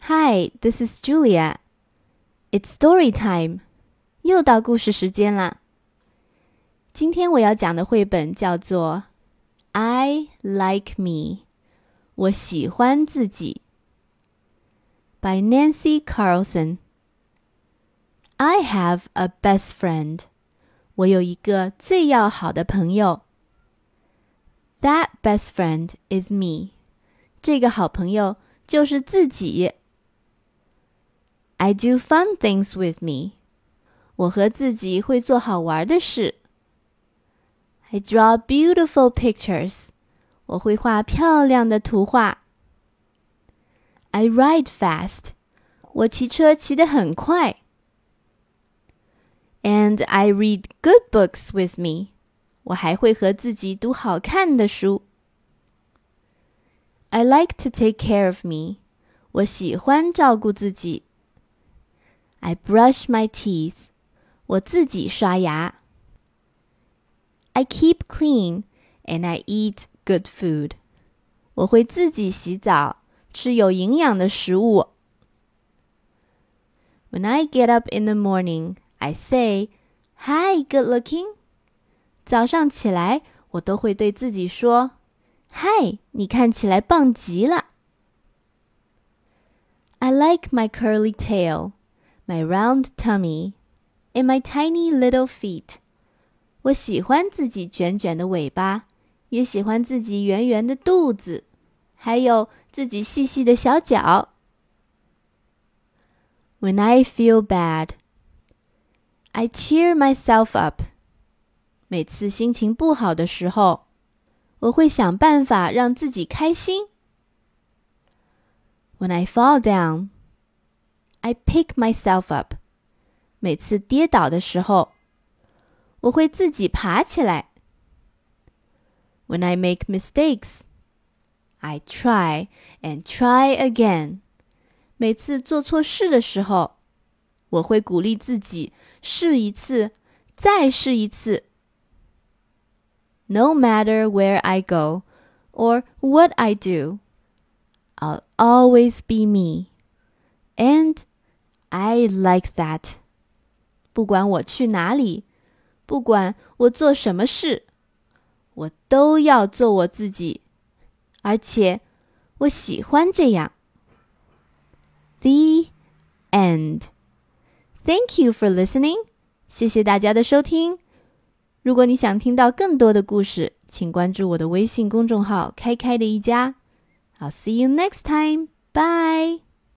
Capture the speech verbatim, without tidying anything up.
Hi, this is Julia. It's story time. 又到故事时间啦。今天我要讲的绘本叫做 I Like Me. 我喜欢自己 by Nancy Carlson. I have a best friend. 我有一个最要好的朋友。That best friend is me. 这个好朋友就是自己。I do fun things with me. 我和自己会做好玩的事。I draw beautiful pictures. 我会画漂亮的图画。I ride fast. 我骑车骑得很快。And I read good books with me. 我还会和自己读好看的书。I like to take care of me. 我喜欢照顾自己。I brush my teeth. 我自己刷牙。I keep clean and I eat good food. 我会自己洗澡，吃有营养的食物。When I get up in the morning, I say, Hi, good looking. 早上起来，我都会对自己说，嗨，你看起来棒极了。I like my curly tail, my round tummy, and my tiny little feet. 我喜欢自己卷卷的尾巴，也喜欢自己圆圆的肚子，还有自己细细的小脚。When I feel bad, I cheer myself up. 每次心情不好的时候，我会想办法让自己开心。When I fall down, I pick myself up. 每次跌倒的时候，我会自己爬起来。When I make mistakes, I try and try again. 每次做错事的时候，我会鼓励自己试一次，再试一次。No matter where I go or what I do, I'll always be me. And I like that. 不管我去哪里，不管我做什么事，我都要做我自己，而且我喜欢这样。The end. Thank you for listening. 谢谢大家的收听。如果你想听到更多的故事，请关注我的微信公众号开开的一家。I'll see you next time. Bye.